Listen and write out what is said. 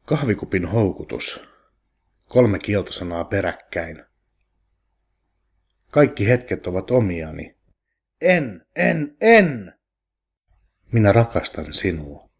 Kahvikupin houkutus. 3 kieltosanaa peräkkäin. Kaikki hetket ovat omiani. En! Minä rakastan sinua.